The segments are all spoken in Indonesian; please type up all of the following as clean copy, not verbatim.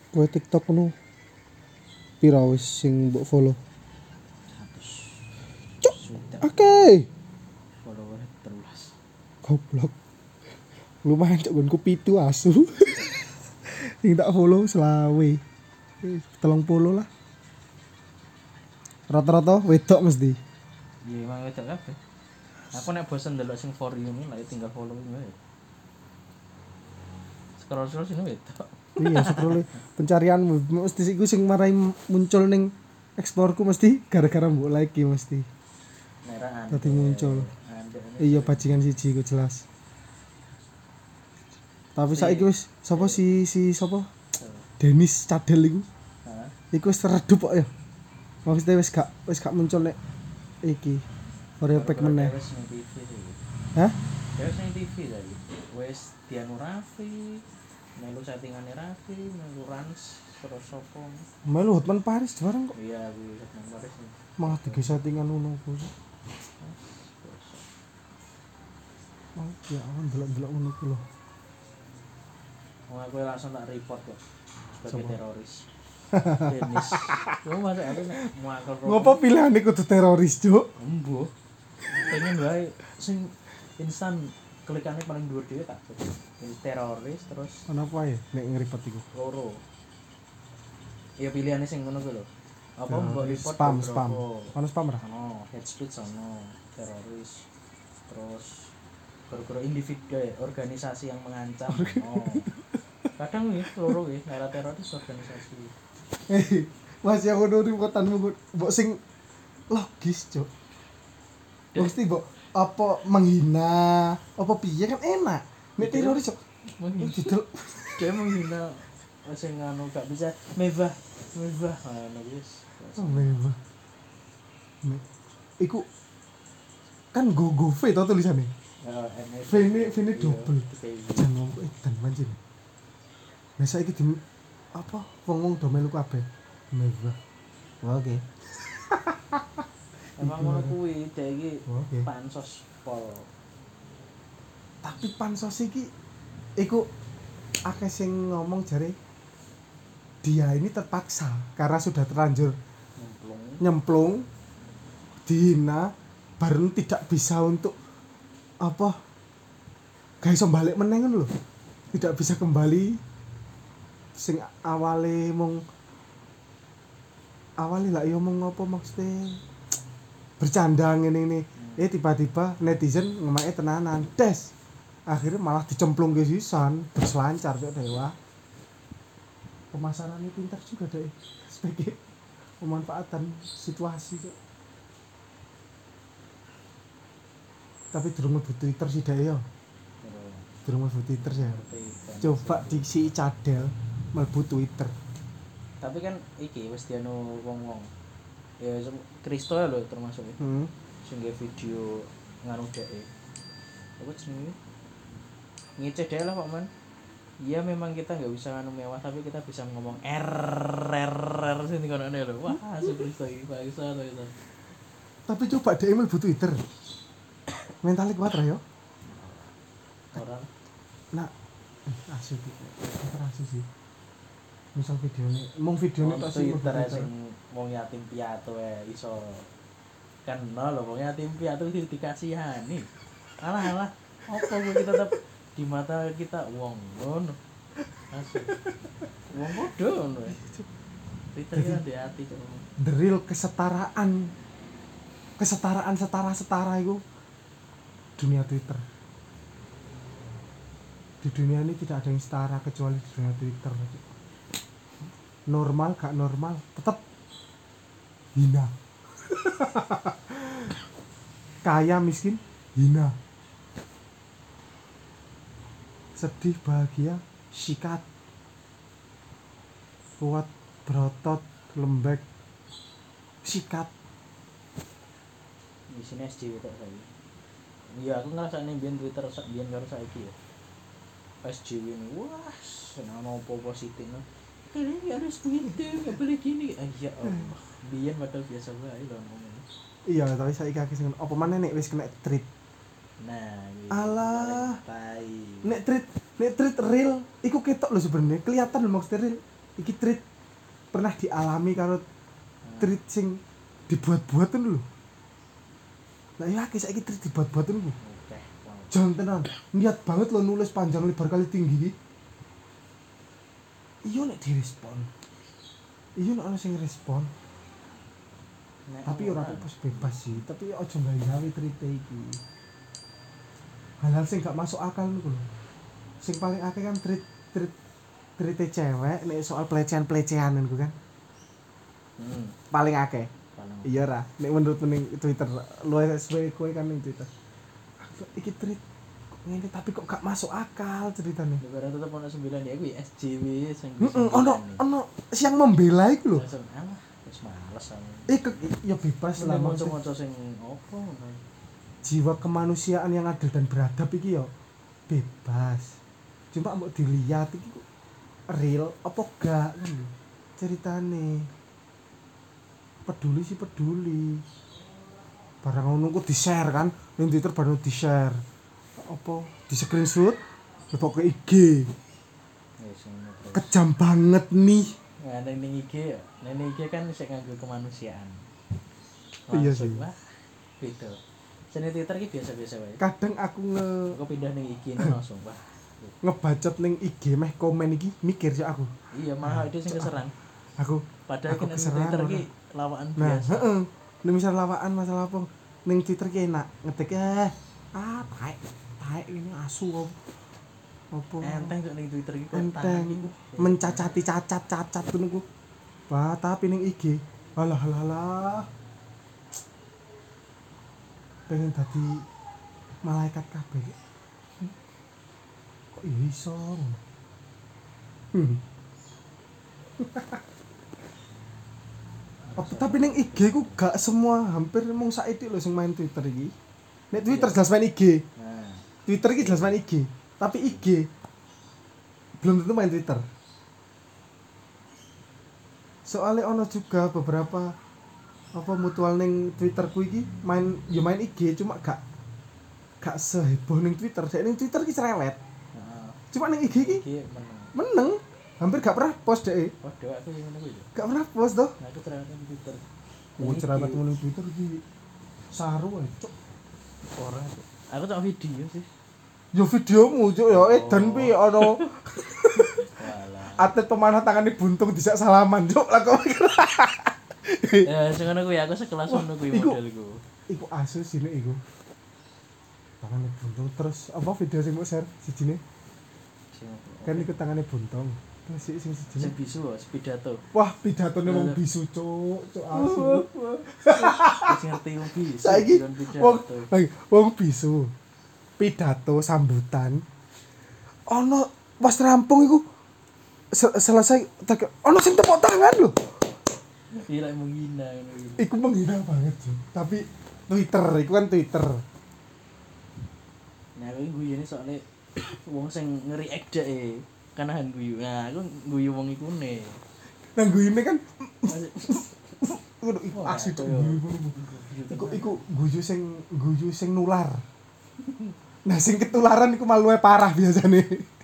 Kowe TikTok nu pira wis sing mbok follow? 100. Cuk, Sudah oke. follower 13. Goblok. Lumayan cok gonku 7 asu. Sing tak follow selawe. 30 lah. Rata-rata wedok mesti. Iya emang wedok kabeh. Aku nek bosen ndelok sing for you ini lah tinggal follow wae. Scroll sini wedok. Iya, scroll pencarian mesti iku sing marai muncul ning explore-ku mesti gara-gara mbok like mesti. Merah Tadi muncul. Ande. Iya bajingan siji iku jelas. Tapi saiki wis sapa si sapa? Denis Cadel iku. Heeh. Iku wis redup kok ya. Maksudnya wis gak muncul nek iki. Oreo pack meneh. Wis ning TV sih. Hah? Wis ning TV tadi. Wis Dianu Raffi, melu settingane Raffi, melu Rans, terus sopo. Melu Hotman Paris bareng kok. Iya, kuwi nang Paris. Malah tiga settingan ngono ku. Oh, ya awan delok-delok ngono ku lho. Wong aku langsung tak report kok sebagai Coba. teroris. Denis. Yo masuk aku nek muakal. Ngopo pilihane kudu teroris, Cuk? Embuh. Pengen wae sing instan klikane paling dhuwur dhewe tak. Teroris terus Kenapa ya nek ngripet iku? loro. Ya pilihane sing ngono kuwi lho. Apa mbok report Spam. Ono spam ora? Ono hate speech ono, teroris. Terus gara-gara individu organisasi yang mengancam. Oh. Kadang nih loro nggih, era teroris organisasi. Masih aku nuri kotanmu mbok sing logis, Cuk. Mesti mbok apa menghina, apa piye kan enak. Nek teroris Cuk. Didel Dia menghina sing anu gak bisa mewah ngono wis. mewah. Iku kan go V to tulisannya. V ini double. Jangan ngomong edan manjing. Nah saiki di apa wong-wong do melu kabeh. Mewah. Oke. Emang ngono kuwi dhek iki Oke. pansos pol. Tapi pansos iki iku akeh sing ngomong jare dia ini terpaksa karena sudah terlanjur nyemplung dihina baru tidak bisa untuk apa gak iso balik meneh ngono lho. Tidak bisa kembali sing awale lah yo mong apa maksudnya bercanda ngene tiba-tiba netizen ngemake tenanan des akhirnya malah dicemplung ke sisan berselancar kok dewa pemasarannya pintar juga deh sebagai pemanfaatan situasi kok. Tapi durung mlebu Twitter sih deh yo durung mlebu Twitter ya coba diksi Cadel mlebu Twitter. Tapi kan iki wis dianu wong-wong. Ya Kristo lho termasuk ya. Sing video nganu dhek. Apa jenenge? Ngeceh dhek lah Pak Man. Iya memang kita nggak bisa nganu mewah tapi kita bisa ngomong RRR sing ngono lho. Wah, Kristo iki bangsa to itu. Tapi coba dhek mlebu Twitter. Mentalnya kuat ra yo. Orang Nah, asu sih. Misal videonya, videonya tak sih Twitter sing wong yatim piatu iso kenal lho wong yatim piatu dikasihani. Alah, apa kok kita tetap di mata kita wong ngono. Asli. Wong bodoh ngono. Twitter kan di hati cok. The real kesetaraan setara itu dunia Twitter. Di dunia ini tidak ada yang setara kecuali di dunia Twitter. Normal gak normal tetap hina. Kaya miskin hina. Sedih bahagia sikat. Kuat berotot lembek sikat. Di sini SJW tok saiki. Iya aku ngrasakne biyen Twitter biyen karo saiki ya. SJW ini wah seneng apa positif no. Ini harus Twitter enggak boleh gini. Ya Allah. Biyen padahal biasa wae lho ngomong. Iya, tapi saiki akeh sing apa maneh nek wis kena treat. Nah, alah. tai. Nek treat real iku ketok lho sebenarnya, kelihatan lho maksudnya real. iki tweet pernah dialami karo tweet sing dibuat-buatan lho. Lah ya akeh saiki tweet dibuat-buatan ku. Jangan tenan, niat banget lo nulis panjang lebar kali tinggi iki. Iya nek direspon. Iya nek ana sing respon. Tapi ora bebas sih, tapi aja gawe tweet iki. Hal-hal sing gak masuk akal niku lho. Sing paling akeh kan tweet cewek nek soal pelecehan-pelecehan niku kan. Paling akeh. Iya ra, nek menurut ning Twitter, lu SW kowe kan ning Twitter. Iki tweet ngene tapi kok gak masuk akal ceritane. Lebaran tetep ono 9 ya kuwi SJW sing ono siang membela iku lho. Wis males aku. Ya bebas lah maksud sing opo ngono. Jiwa kemanusiaan yang adil dan beradab iki ya bebas. Cuma mbok dilihat iki real apa gak kan ceritane. Peduli sih peduli. Barang ngono ku di-share kan, ning Twitter baru di-share. Apa di-screenshot lebok ke IG. Kejam banget nih. Nah, ning IG ya. Ning IG kan sik nganggo kemanusiaan. Iya sih. Wah, beda. Sene Twitter ki biasa-biasa wae. Kadang aku pindah ning IG langsung, wah. Ngebacot ning IG meh komen iki mikir sih aku. Iya, malah itu sing keserang. Aku padahal kan Twitter ki lawakan nah, biasa. Heeh. Nek misal lawakan masalah apa ning Twitter ki enak ngetik taek ini asu apa enteng kok ning Twitter ki kok enteng mencacati cacat niku. Wah, tapi ning IG alah pengen dadi malaikat kabeh. Kok iso? Tapi ning IG ku gak semua, hampir mung saiki lho sing main Twitter iki. Nek Twitter jelas main IG. Nah, Twitter iki jelas main IG, tapi IG belum tentu main Twitter. Soalnya ono juga beberapa apa mutual ning Twitterku iki main IG cuma gak seheboh ning Twitter. Dek ning Twitter ki cerewet. Cuma ning IG ki meneng. Hampir gak pernah post deh. Waduh, aku yang ngono kuwi. Gak pernah post toh. Nah, aku cerewet ning Twitter. Cerewet ning Twitter iki saru ae, cuk. Ora. Aku tak video sih. Yo videomu cuk ya edan pi ono. Walah. Atlet pemanah tangane buntung dijak salaman cuk lah kok. Ya sing ngono kuwi aku sekelas ngono kuwi modelku. Iku asu sini iku. Tangane buntung terus apa video sing mau share sijine? Kan iku tangane buntung. Terus sing sijine bisu pidato. Wah, pidatone wong bisu cuk asu. Wis ngerti wong bisu. Saiki wong bisu. Pidato sambutan. Ono pas rampung iku selesai ono sing tepuk tangan lho. Iya menghina ngono. Iku menghina banget sih. Tapi Twitter, iku kan Twitter. Nah, aku guyune soalnya wong sing nge-react dek kanahan guyu. Nah, aku guyu wong iku ne. Nah, guyune kan iku asli tuh. Iku guyu sing nular. Nah, sing ketularan iku maluwe parah biasane.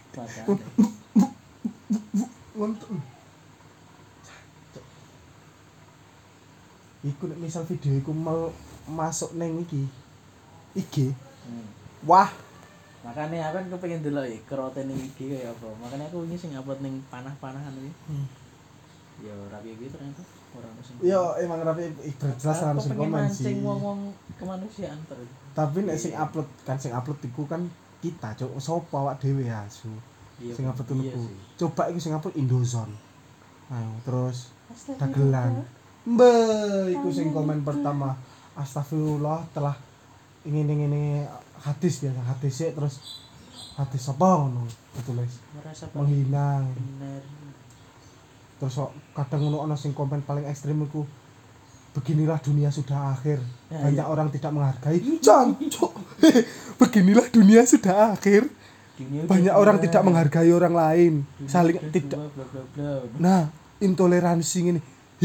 Iku nek misal video iku masuk neng iki IG. Wah, makanya aku kan kepengin delok iki kerote ning IG kaya apa. Makanya aku wingi sing upload ning panah-panahan iki. Ya rapi iki ternyata ora ono sing. Yo emang rapi jelas ora ono sing komen sih. Sing wong-wong kemanusiaan terus. Tapi nek sing upload iku kan kita cuk sapa awak dhewe asu. Sing upload niku. Coba iku sing upload Indozone. Ayo terus dagelan. Iku sing komen pertama. Astagfirullah telah ini hadis biasa hadis sih terus hadis apa ngono ditulis menghina. Terus kadang ngono ana sing komen paling ekstrem iku beginilah dunia sudah akhir. Banyak orang tidak menghargai. Jancuk. Beginilah dunia sudah akhir. Banyak orang tidak menghargai orang lain. Saling tidak. Nah, intoleransi ini.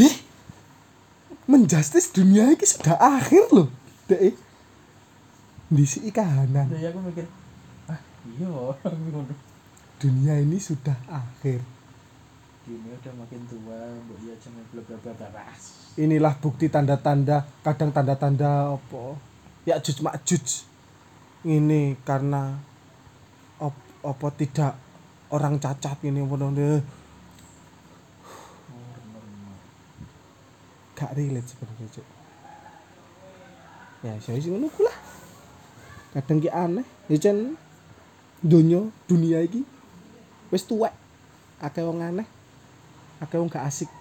Menjustis dunia ini sudah akhir loh. Dek. Disi kahanan. Ya aku mikir, iya ngono. Dunia ini sudah akhir. ini udah makin tua, mbok ya jangan bla bla bla bla. Inilah bukti tanda-tanda, kadang tanda-tanda apa? Ya'juj Ma'juj. Ini karena apa tidak orang cacat ini apa gak relate sebenarnya Cuk. Ya saya sing ngono lah. Kadang ki aneh, ya jan dunia iki wis tuwek. Akeh wong aneh. Akeh wong gak asik.